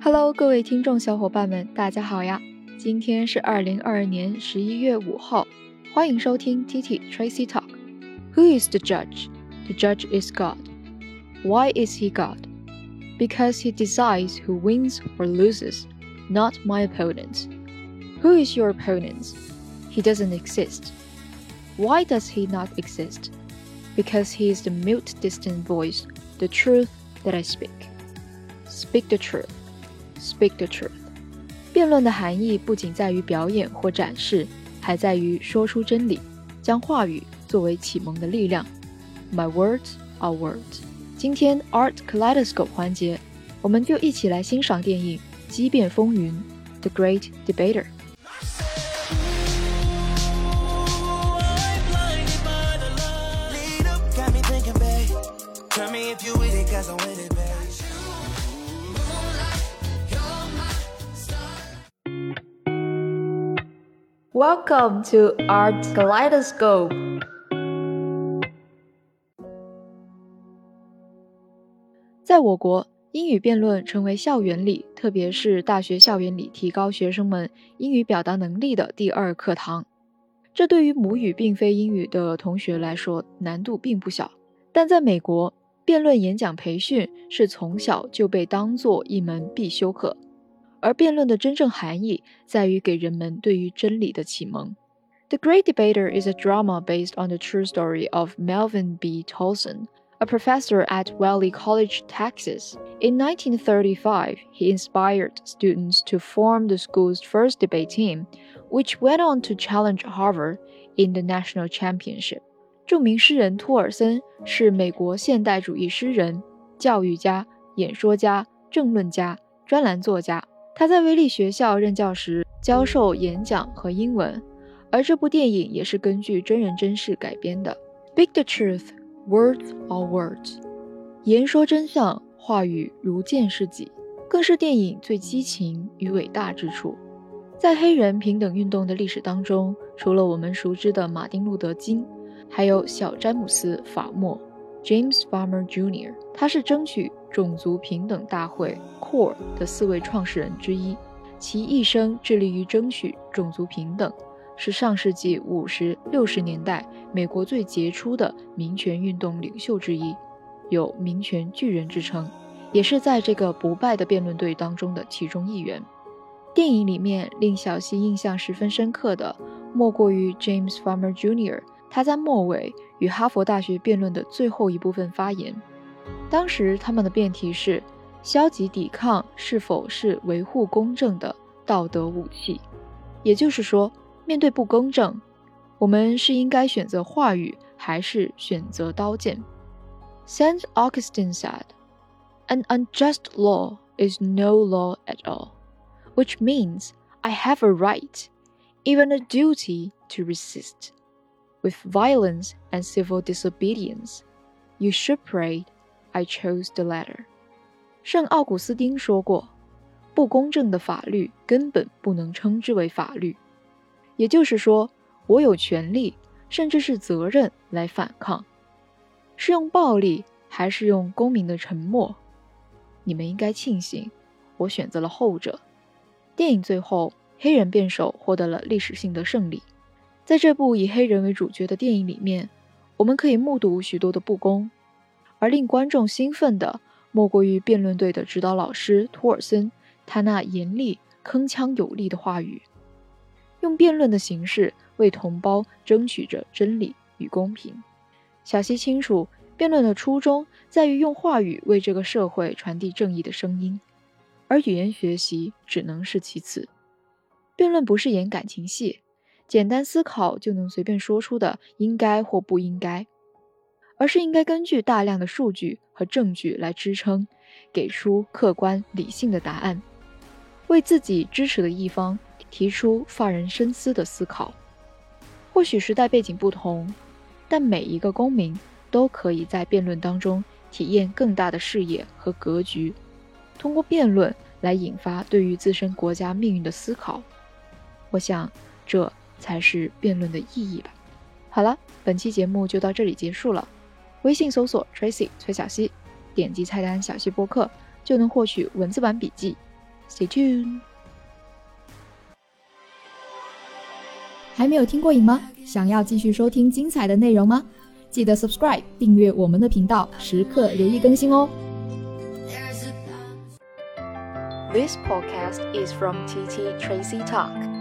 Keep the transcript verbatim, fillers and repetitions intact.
Hello， 各位听众小伙伴们，大家好呀！今天是二零二二年十一月五号，欢迎收听 T T Tracy Talk。Who is the judge? The judge is God. Why is he God? Because he decides who wins or loses, not my opponents. Who is your opponent? He doesn't exist. Why does he not exist? Because he is the mute distant voice, the truth that I speak. Speak the truth.Speak the truth. 辩论的含义不仅在于表演或展示，还在于说出真理，将话语作为启蒙的力量。My words are words. 今天 Art Kaleidoscope 环节，我们就一起来欣赏电影《激辩风云》The Great Debater。Welcome to Art Kaleidoscope. 在我国，英语辩论成为校园里，特别是大学校园里提高学生们英语表达能力的第二课堂。这对于母语并非英语的同学来说，难度并不小。但在美国，辩论演讲培训是从小就被当作一门必修课。而辩论的真正含义在于给人们对于真理的启蒙。The Great Debater is a drama based on the true story of Melvin B. Tolson, a professor at Valley College, Texas. In nineteen thirty-five, he inspired students to form the school's first debate team, which went on to challenge Harvard in the national championship. 著名诗人托尔森是美国现代主义诗人、教育家、演说家、政论家、专栏作家。他在威利学校任教时教授演讲和英文，而这部电影也是根据真人真事改编的。Speak the truth, words are words. 言说真相，话语如剑是戟，更是电影最激情与伟大之处。在黑人平等运动的历史当中，除了我们熟知的马丁路德金，还有小詹姆斯·法默 James Farmer Junior 他是争取种族平等大会 C O R E 的四位创始人之一，其一生致力于争取种族平等，是上世纪五十、六十年代美国最杰出的民权运动领袖之一，有民权巨人之称，也是在这个不败的辩论队当中的其中一员。电影里面令小希印象十分深刻的，莫过于 James Farmer Junior 他在末尾与哈佛大学辩论的最后一部分发言。当时他们的辩题是消极抵抗是否是维护公正的道德武器，也就是说，面对不公正，我们是应该选择话语还是选择刀剑。 Saint Augustine said, An unjust law is no law at all, which means I have a right, even a duty to resist. With violence and civil disobedience, you should pray I chose the latter. 圣奥古斯丁说过，不公正的法律根本不能称之为法律。也就是说，我有权利，甚至是责任来反抗。是用暴力，还是用公民的沉默？你们应该庆幸，我选择了后者。电影最后，黑人辩手获得了历史性的胜利。在这部以黑人为主角的电影里面，我们可以目睹许多的不公，而令观众兴奋的莫过于辩论队的指导老师托尔森，他那严厉铿锵有力的话语，用辩论的形式为同胞争取着真理与公平。小希清楚，辩论的初衷在于用话语为这个社会传递正义的声音，而语言学习只能是其次。辩论不是演感情戏，简单思考就能随便说出的应该或不应该，而是应该根据大量的数据和证据来支撑，给出客观理性的答案，为自己支持的一方提出发人深思的思考。或许时代背景不同，但每一个公民都可以在辩论当中体验更大的视野和格局，通过辩论来引发对于自身国家命运的思考。我想这才是辩论的意义吧。好了，本期节目就到这里结束了。微信搜索 Tracy 崔小希，点击菜单小希播客就能获取文字版笔记。 Stay tuned。 还没有听过瘾吗？想要继续收听精彩的内容吗？记得 subscribe 订阅我们的频道，时刻留意更新哦。 This podcast is from T T Tracy Talk.